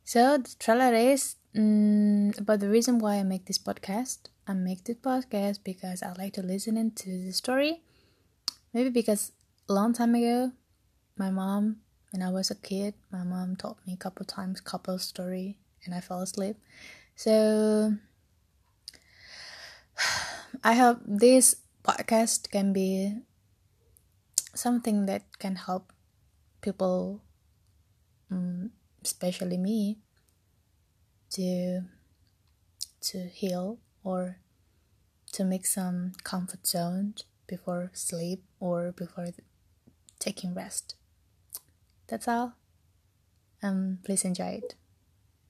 So the trailer is about the reason why I make this podcast. I make this podcast because I like to listen into the story. Maybe because a long time ago, my mom, when I was a kid, my mom told me a couple times couple story and I fell asleep. So I hope this podcast can be something that can help people, especially me, to heal or to make some comfort zone before sleep or before taking rest. That's all. Please enjoy it.